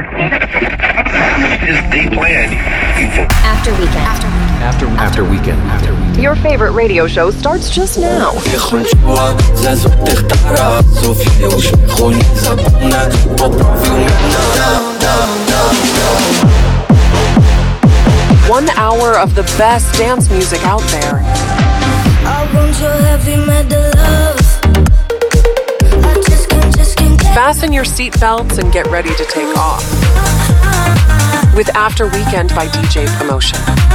After Weekend. Your favorite radio show starts just now. 1 hour of the best dance music out there. Fasten your seatbelts and get ready to take off. With After Weekend by DJ Promotion.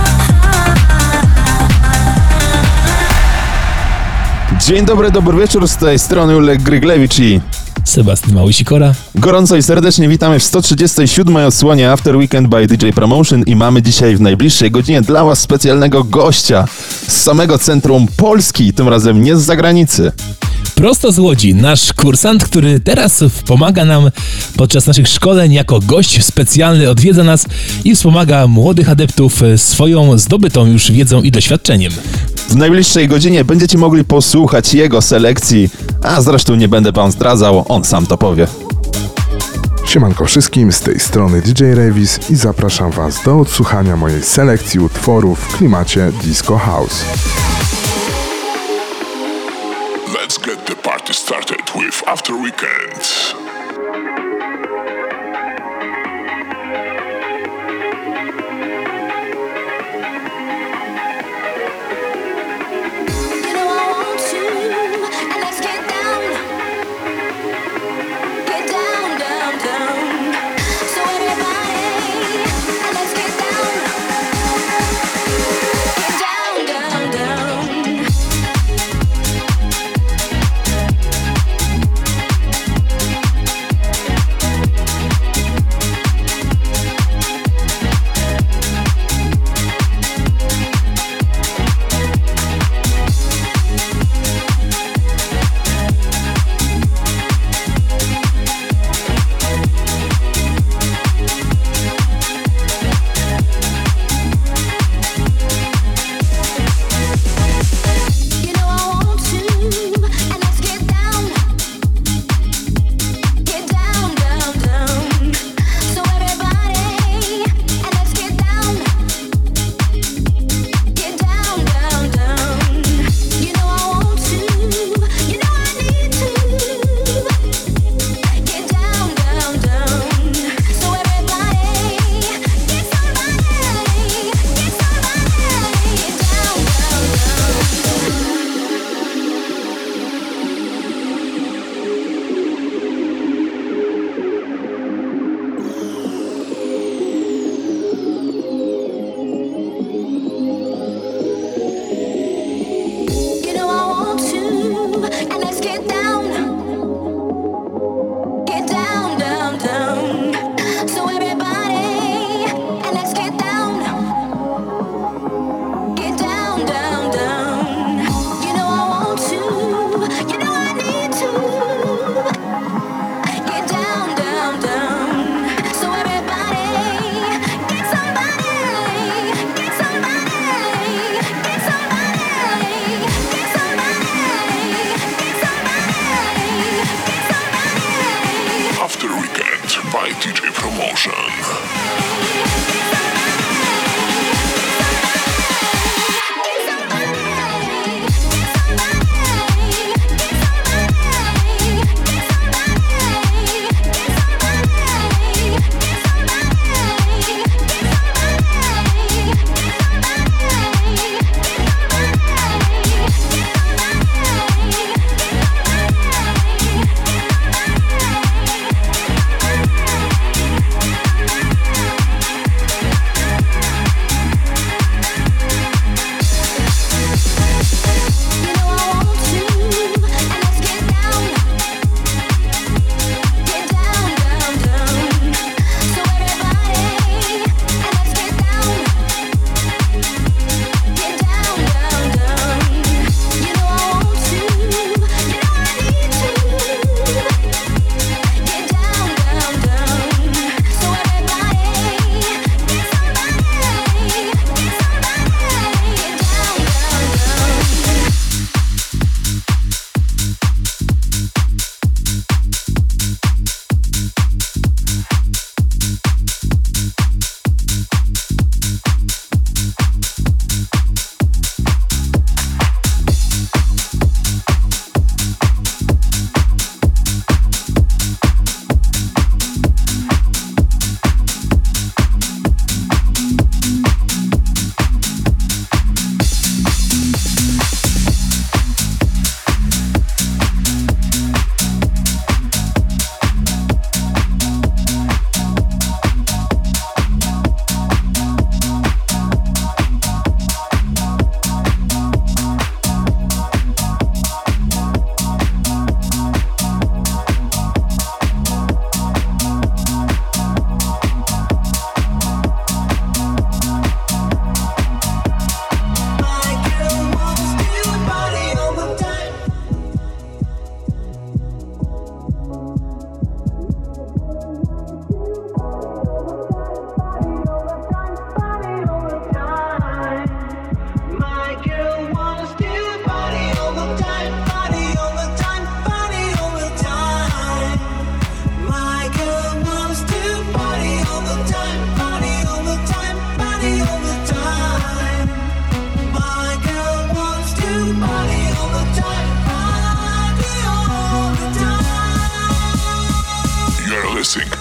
Dzień dobry, dobry wieczór, z tej strony Ulek Gryglewicz i Sebastian Małysikora. Gorąco i serdecznie witamy w 137. odsłonie After Weekend by DJ Promotion i mamy dzisiaj w najbliższej godzinie dla Was specjalnego gościa z samego centrum Polski, tym razem nie z zagranicy. Prosto z Łodzi, nasz kursant, który teraz pomaga nam podczas naszych szkoleń jako gość specjalny, odwiedza nas i wspomaga młodych adeptów swoją zdobytą już wiedzą i doświadczeniem. W najbliższej godzinie będziecie mogli posłuchać jego selekcji, a zresztą nie będę Wam zdradzał, on sam to powie. Siemanko wszystkim, z tej strony DJ Revis i zapraszam Was do odsłuchania mojej selekcji utworów w klimacie Disco House. Let's get the party started with After Weekend.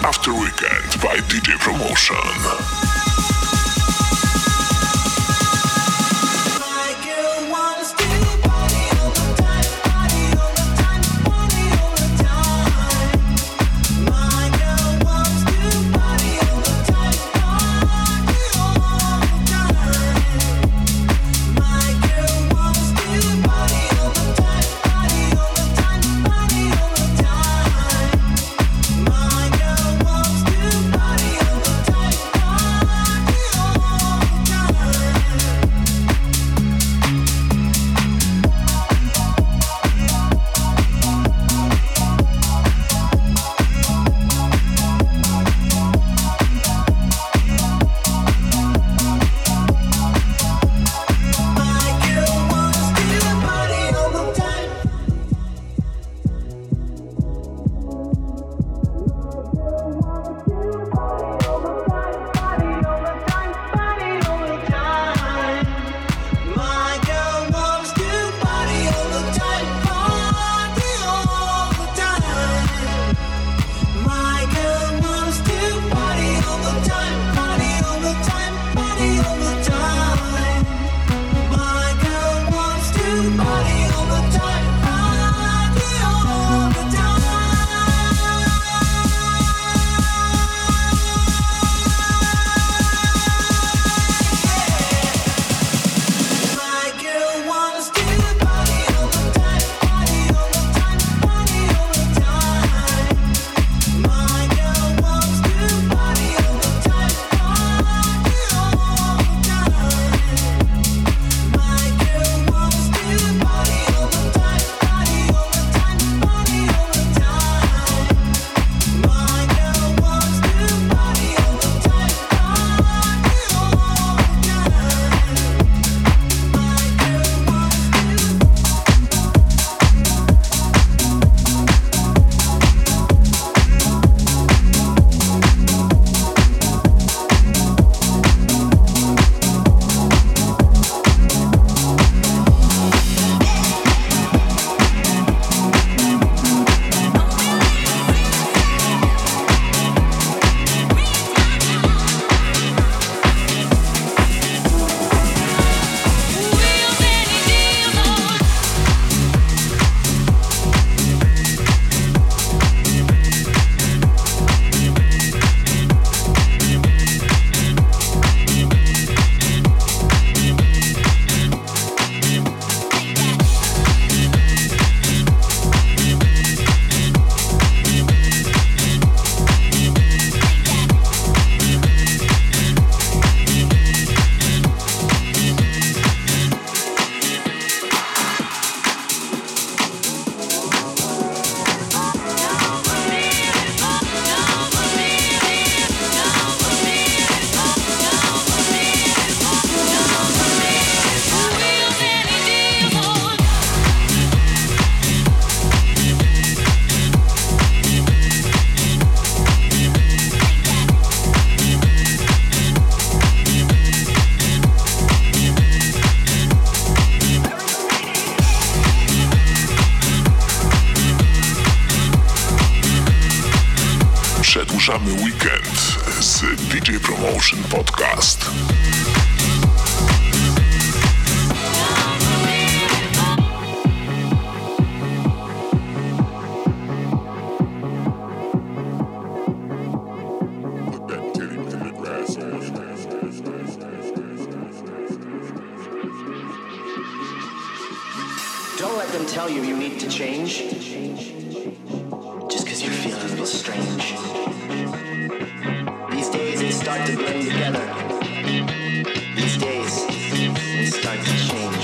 After Weekend by DJ Promotion. Przedłużamy weekend z DJ Promotion Podcast. Don't let them tell you you need to change just because you're feeling a little strange. These days they start to blend together. These days they start to change.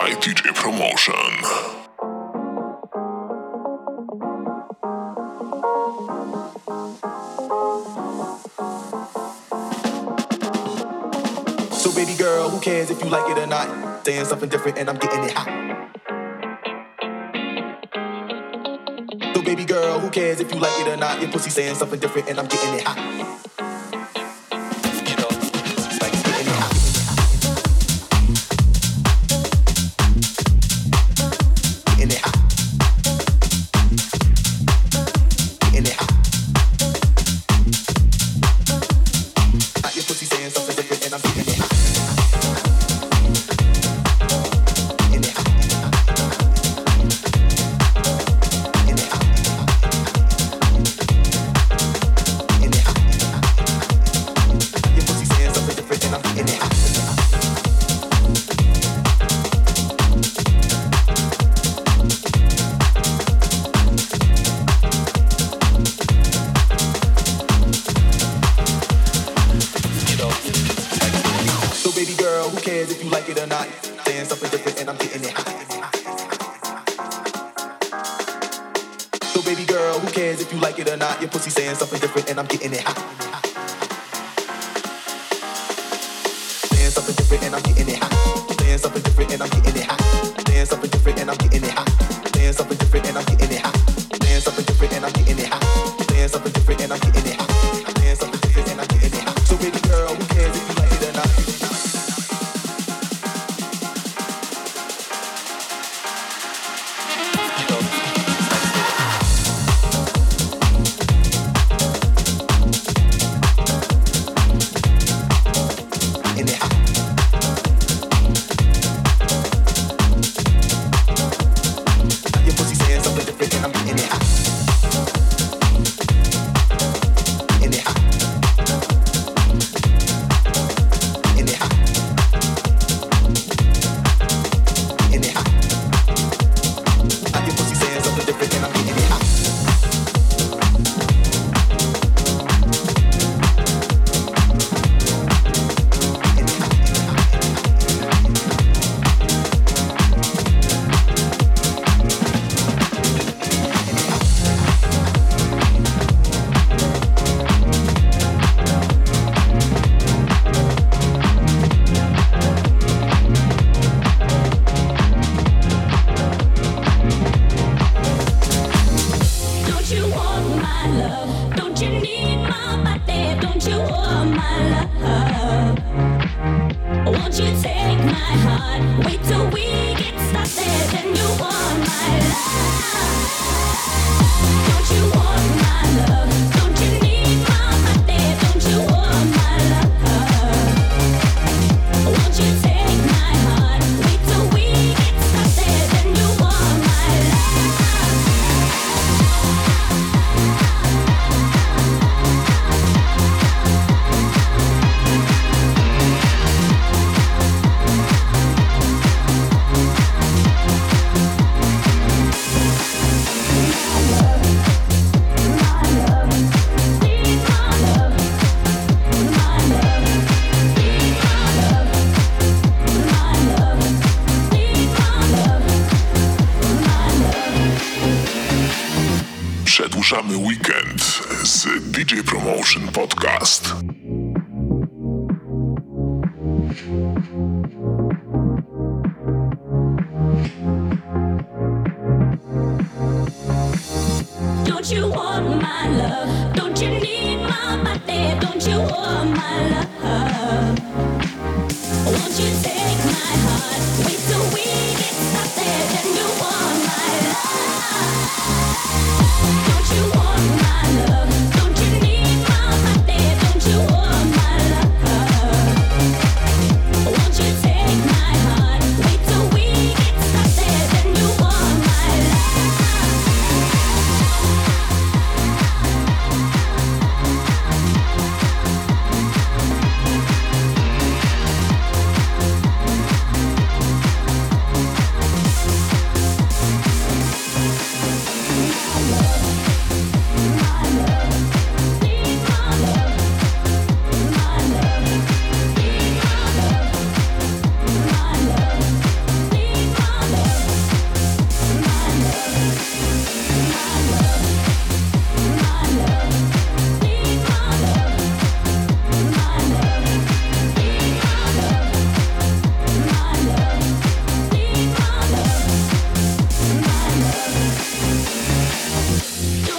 by DJ Promotion. So baby girl, who cares if you like it or not? Saying something different and I'm getting it hot. So baby girl, who cares if you like it or not? Your pussy saying something different and I'm getting it hot. You know, it's like it's getting it hot. Getting it hot. Getting it hot. Your pussy saying something different and I'm getting it hot. If you like it or not, saying something different and I'm getting it hot. So baby girl, who cares if you like it or not? Your pussy saying something different and I'm getting it hot. Saying something different and I'm getting it hot. Saying something different and I'm getting it hot. Saying something different and I'm getting it hot. Saying something different and I'm getting it hot. Saying something different and I'm getting it hot. Saying something different and I'm getting it hot. Saying something different and I'm getting it hot. So baby girl, who cares if you like it or not? Przedłużamy weekend z DJ Promotion Podcast. Don't you want my love? Don't you need my body? Don't you want my love? Won't you take my heart? Wait till we get started and you want my love. Don't you want my love? Don't you need my body? Don't you want my love? Won't you take my heart? Wait till we get started and you want my love. I love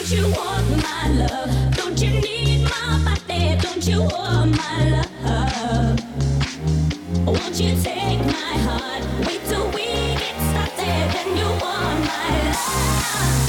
Don't you want my love? Don't you need my body? Don't you want my love? Won't you take my heart? Wait till we get started, then you want my love.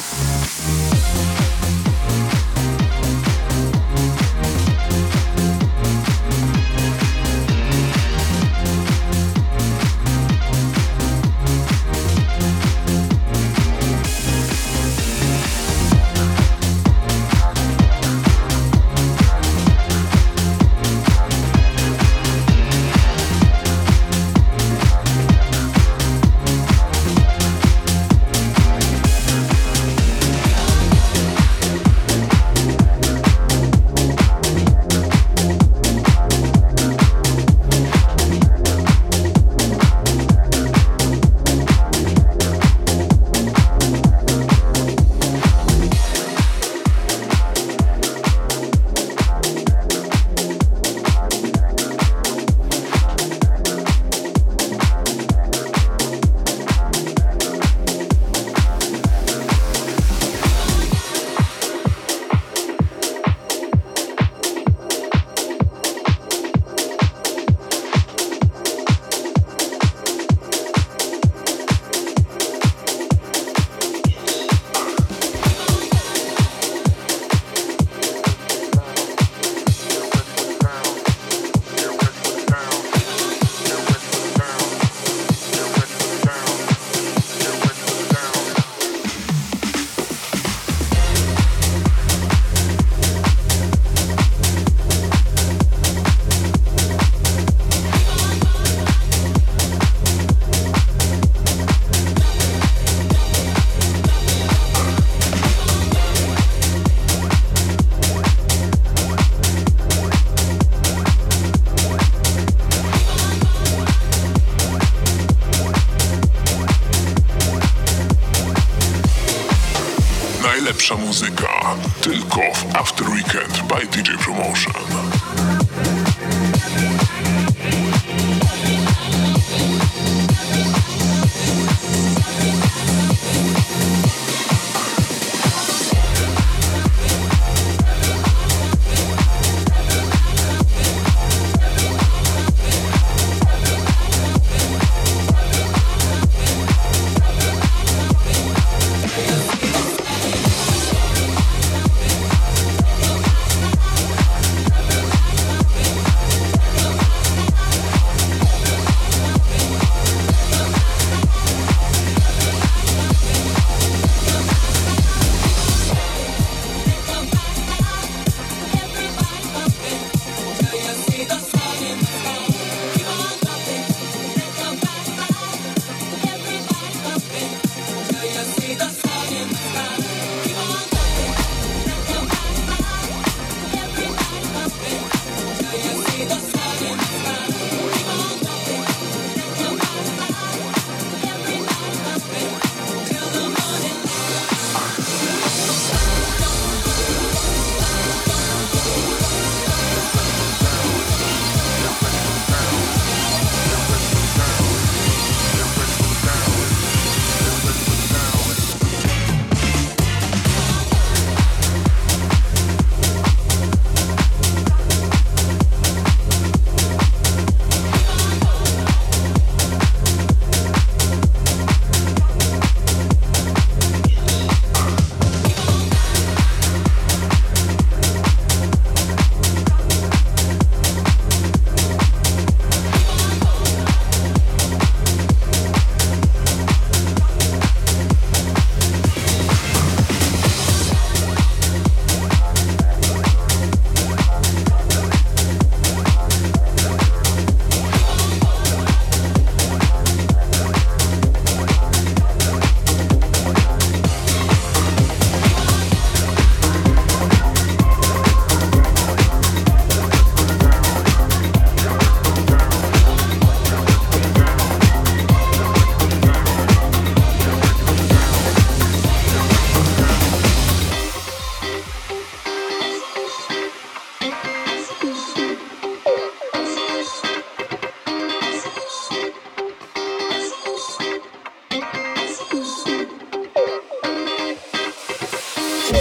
Najlepsza muzyka tylko w After Weekend by DJ Promotion.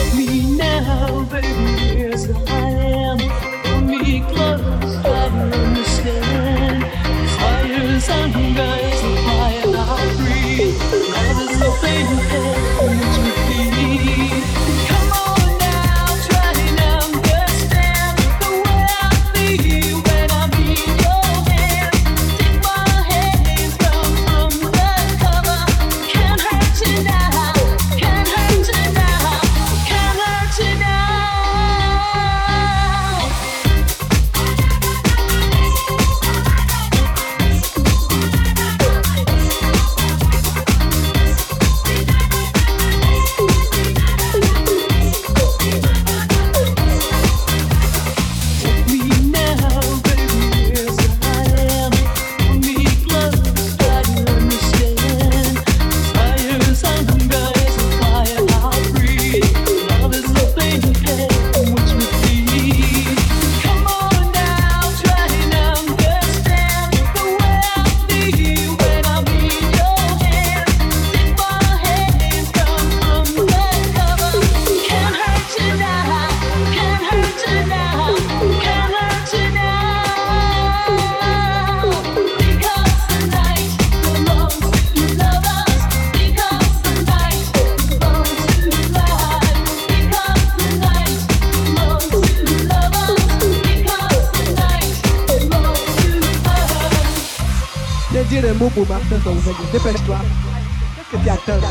le mot pour Martin Solveig. Dépêche-toi. Qu'est-ce que tu attends?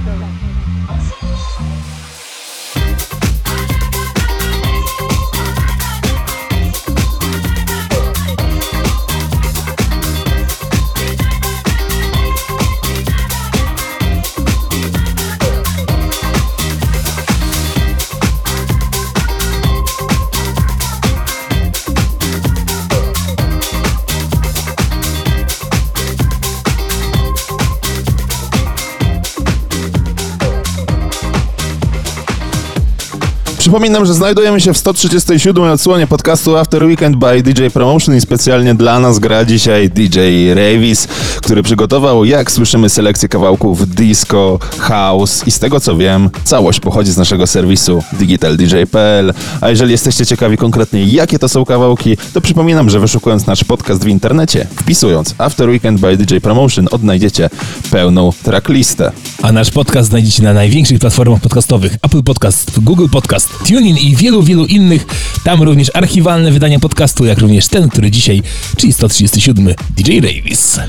Przypominam, że znajdujemy się w 137. odsłonie podcastu After Weekend by DJ Promotion i specjalnie dla nas gra dzisiaj DJ Ravis, który przygotował, jak słyszymy, selekcję kawałków disco, house i z tego co wiem, całość pochodzi z naszego serwisu digitaldj.pl. A jeżeli jesteście ciekawi konkretnie, jakie to są kawałki, to przypominam, że wyszukując nasz podcast w internecie, wpisując After Weekend by DJ Promotion, odnajdziecie pełną tracklistę. A nasz podcast znajdziecie na największych platformach podcastowych: Apple Podcast, Google Podcast, TuneIn i wielu, wielu innych. Tam również archiwalne wydania podcastu, jak również ten, który dzisiaj, czyli 137, DJ Ravis.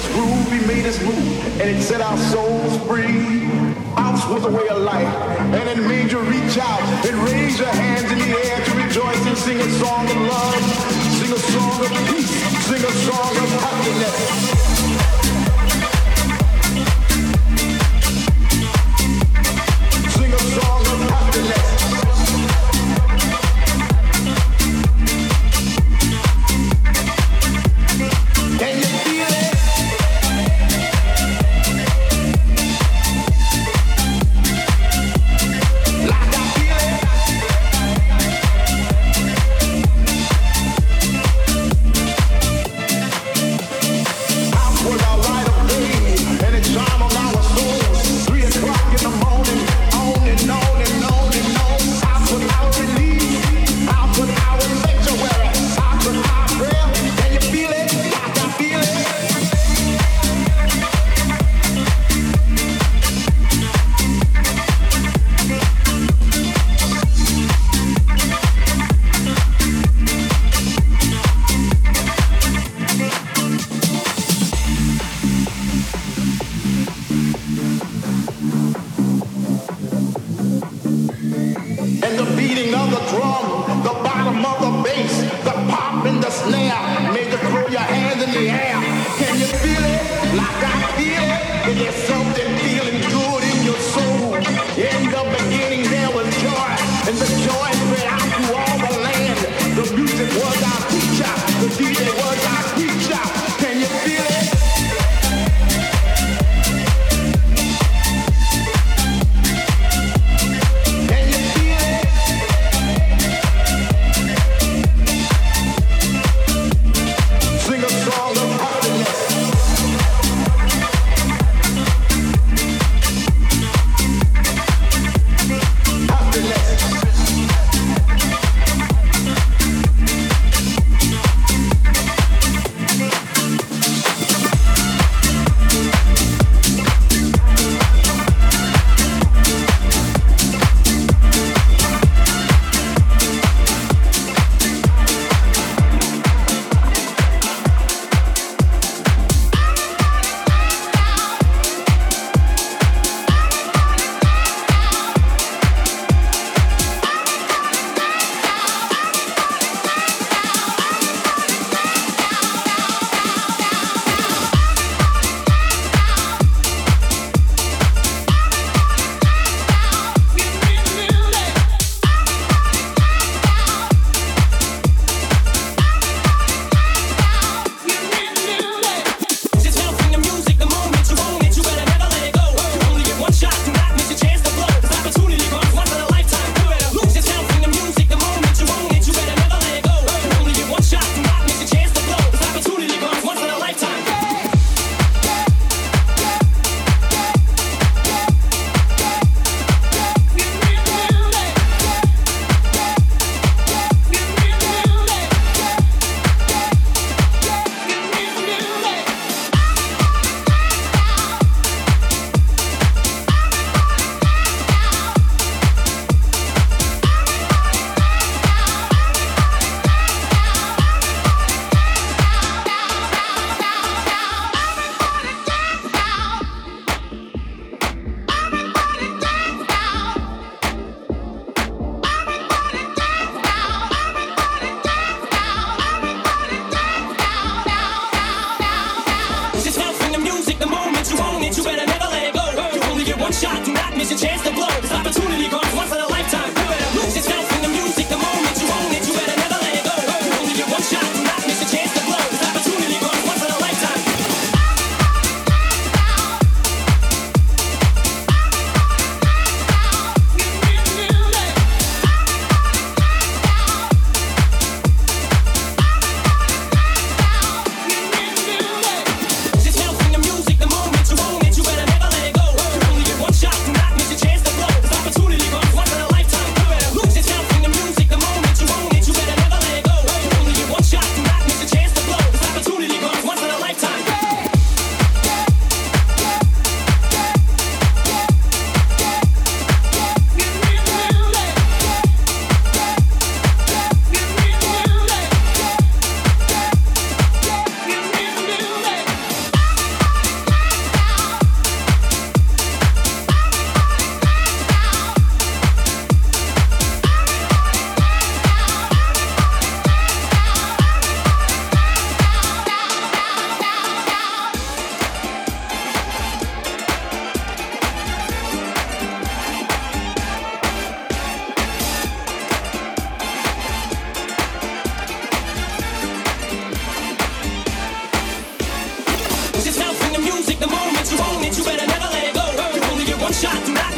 this groove, he made us move, and it set our souls free. Ours was a way of life, and it made you reach out and raise your hands in the air to rejoice and sing a song of love, sing a song of peace, sing a song of happiness. Sing a song of happiness. Can you feel it? Like I feel it. I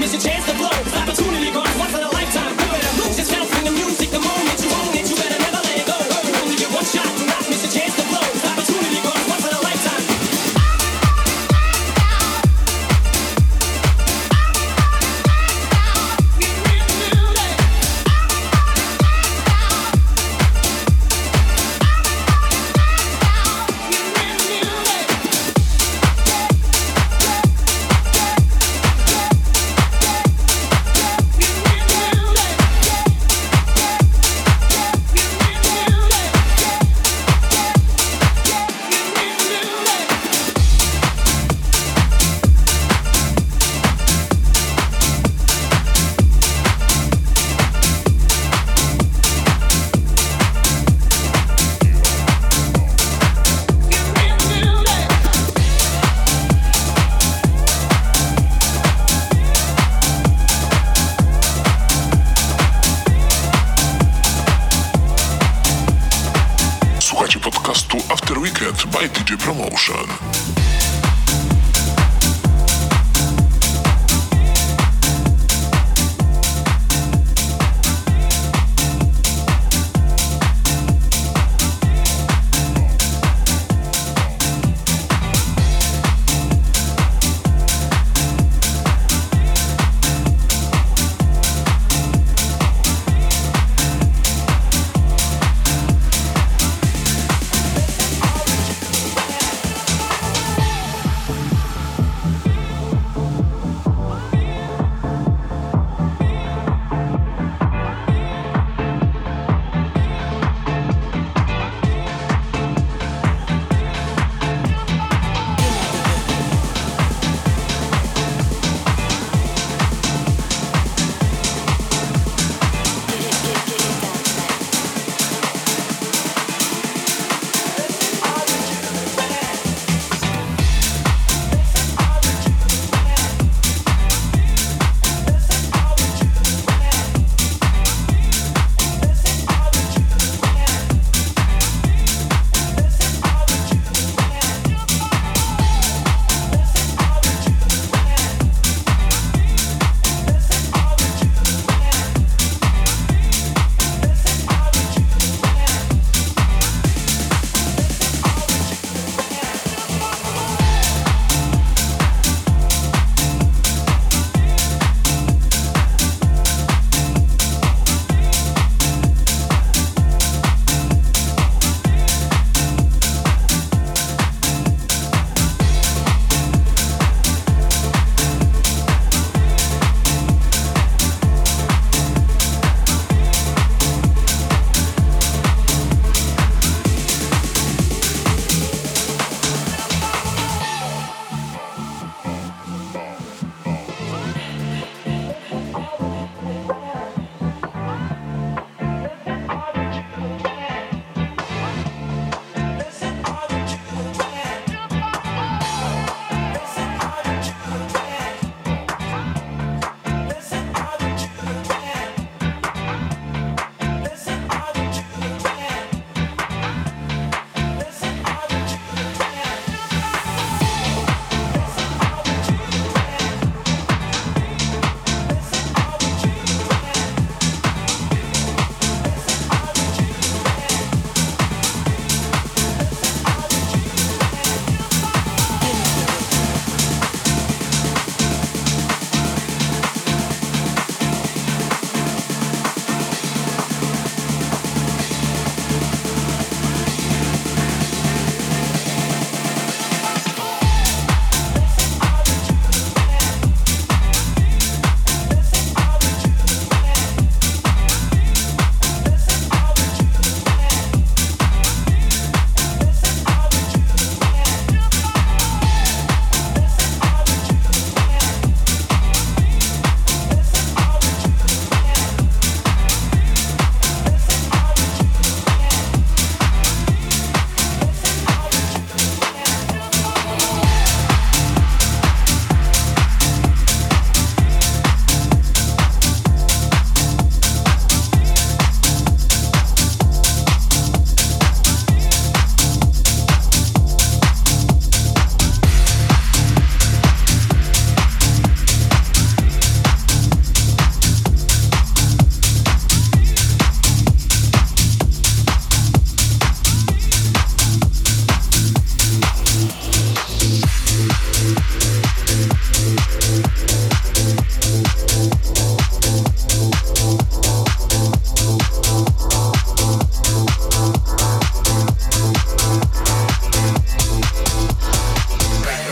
miss your chance to blow. Opportunity comes once in a lifetime. Do it and lose yourself in the music. The moment you own it, you better never let it go. You only get one shot, do not miss your chance to blow. Opportunity comes once in a lifetime. Słuchajcie podcastu After Weekend by DJ Promotion.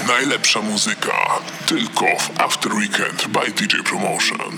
Najlepsza muzyka tylko w After Weekend by DJ Promotion.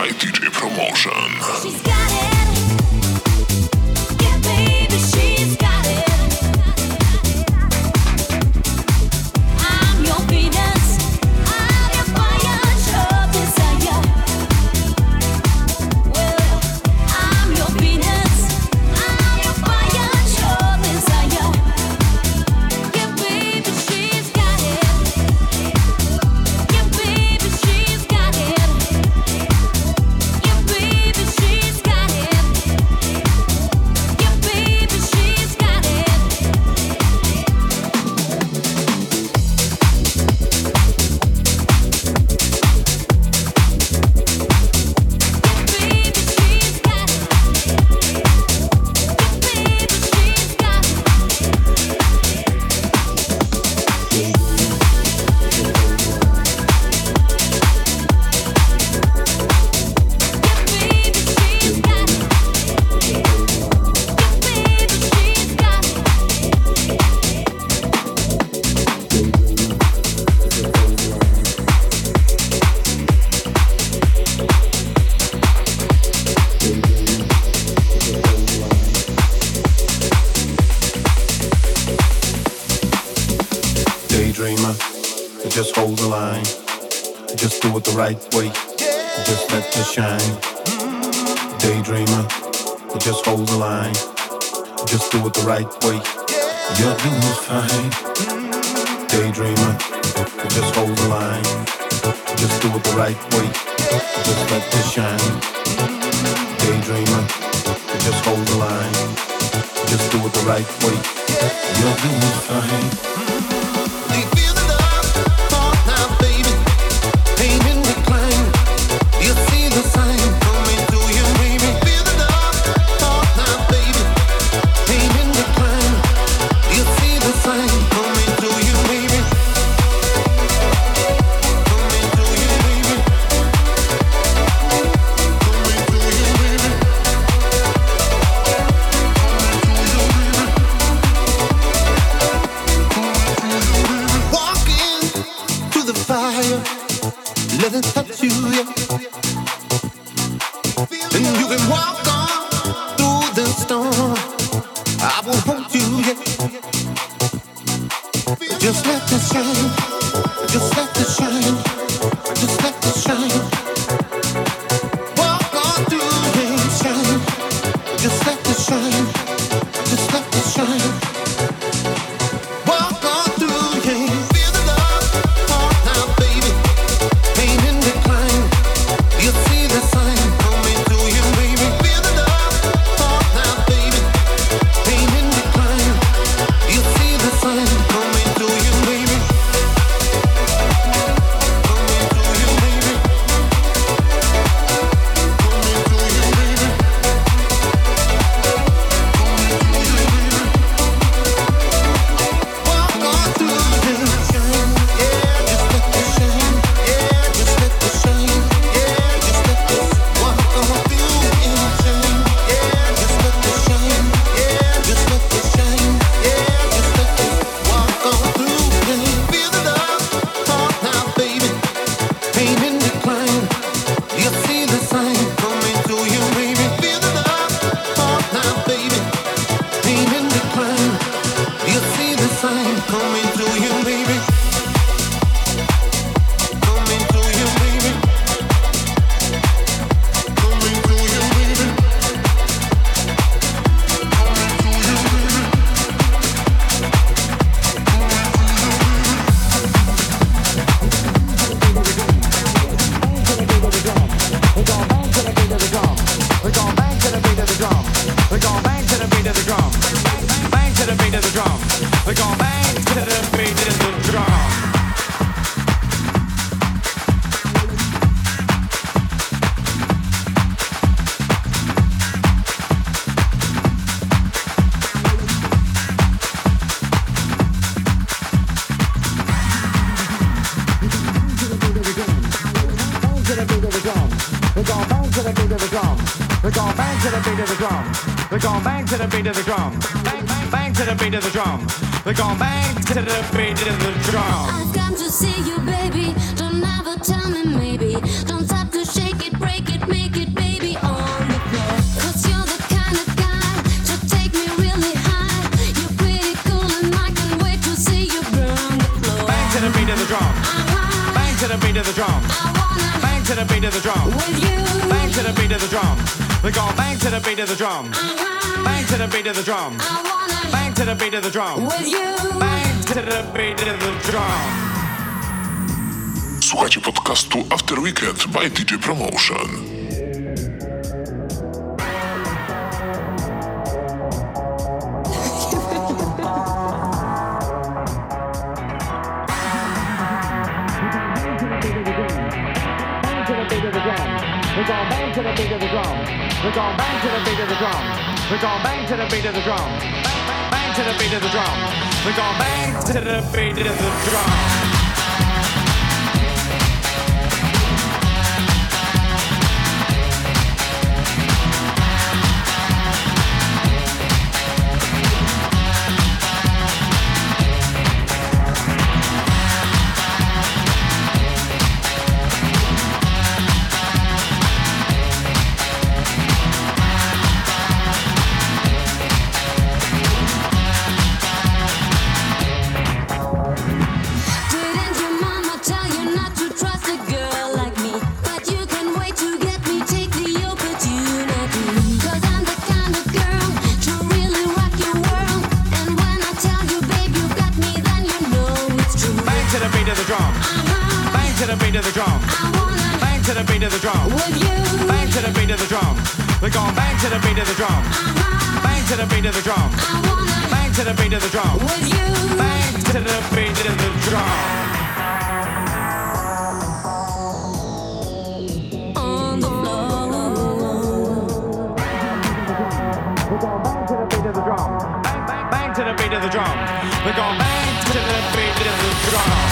by DJ Promotion. She's got it. Yeah, baby, she's got it. I'm your Venus. I'm your fire, your desire. Well, I'm your Venus. I'm your fire, your desire. Yeah, baby, she's got it. Yeah, baby, she's got it. Yeah, baby, she's got it. Yeah, baby, she's got it. Daydreamer, just hold the line. Just do it the right way. Just let it shine. Daydreamer, just hold the line. Just do it the right way. You're doing fine. Daydreamer, just hold the line. Just do it the right way. Just let it shine. Daydreamer, just hold the line. Just do it the right way. You're doing fine. Do you feel the love? Fall now, baby. Pain in decline. You see the sign coming to you, baby. Feel the love? Fall now, baby. Pain in decline. You see the sign coming to you, baby. Coming to you, baby. Coming to you, baby. Walking through the fire, let it touch you, yeah. And you can walk on through the storm. I will hold you, yeah. Just let it shine. Just let it shine. Just let it shine. Walk on through and shine. Just let it shine. Just let it shine. Walk on through, yeah. Feel the love, fall now, baby. Pain in decline. You see the sign coming to you, baby. Feel the love, fall now, baby. Pain in decline. You see the sign coming to you, baby. Coming to you, baby. Coming to you, baby. Walk on through and shine, yeah. Just let it shine, yeah. Just let it shine, yeah. Just let it walk on through and shine, yeah. Just let it shine, yeah. Just let it shine, yeah. Just let it walk on through and feel the love, fall now, baby. Pain in decline, you see the sign coming to you, baby. Feel the love, fall now, baby. Pain in decline, you see the sign coming to you, baby. Coming to you, baby. Coming to you, baby. We're gon' bang to the beat of the drum. We're gon' bang to the beat of the drum. We're gon' bang to the beat of the drum. Bang to the beat of the drum. We're gon' bang to the beat of the drum. We're gon' bang to the beat of the drum. We're gon' bang to the beat of the drum. We're gon' bang to the beat of the drum. Bang, bang, bang to the beat of the drum. We're gon' bang to the beat of the drum. I've come to see you, baby. Don't ever tell me maybe. Don't stop to shake it, break it, make of the drum. Bang to the beat of the drum. Bang to the beat of the drum. We're gonna bang to the beat of the drum. Bang to the beat of the drum. Bang to the beat of the drum. Bang to the beat of the drum. Słuchajcie podcastu After Weekend by DJ Promotion. We're gon' bang to the beat of the drum. We're gon' bang to the beat of the drum. We're gon' bang to the beat of the drum. Bang, bang to the beat of the drum. We're gon' bang to the beat of the drum. We're gon' bang to the beat of the drum. Bang to the beat of the drum. Bang to the beat of the drum. Bang to the beat of the drum. On the floor. We're gon' bang to the beat of the drum. Bang, bang, bang to the beat of the drum. We're gon' bang to the beat of the drum.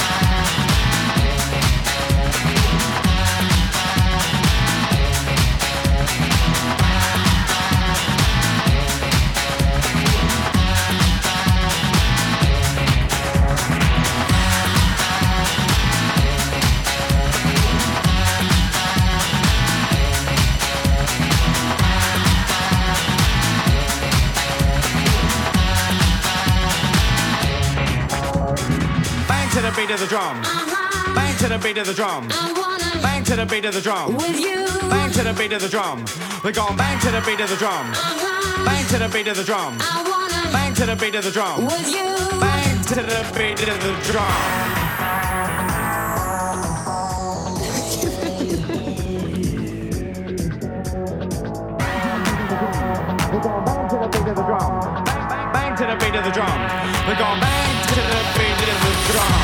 Beat of the drum. Bang to the beat of the drum. Bang to the beat of the drum. Bang to the beat of the drum. We're gon' bang to the beat of the drum. Bang to the beat of the drum. Bang to the beat of the drum. Bang to the beat of the drum. We're gon' bang to the beat of the drum. Bang, bang to the beat of the drum. We're gon' bang to the beat of the drum.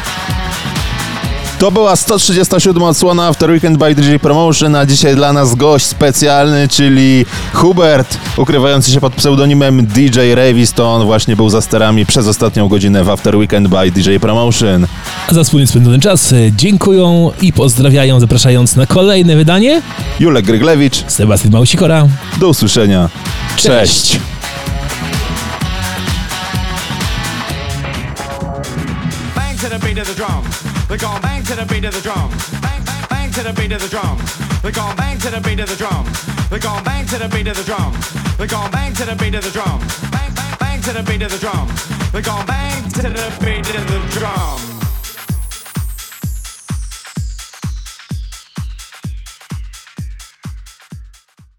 To była 137 odsłona After Weekend by DJ Promotion, a dzisiaj dla nas gość specjalny, czyli Hubert, ukrywający się pod pseudonimem DJ Revis. To on właśnie był za sterami przez ostatnią godzinę w After Weekend by DJ Promotion. A za wspólnie spędzony czas dziękują i pozdrawiają, zapraszając na kolejne wydanie Julek Gryglewicz, Sebastian Małsikora. Do usłyszenia. Cześć. Bang to the beat of the drum. We're gon' bang to the beat of the drum. Bang, bang, bang to the beat of the drum. We're gon' bang to the beat of the drum. We're gon' bang to the beat of the drum. We're gon' bang to the beat of the drum. Bang, bang, bang to the beat of the drum. We're gon' bang to the beat of the drum.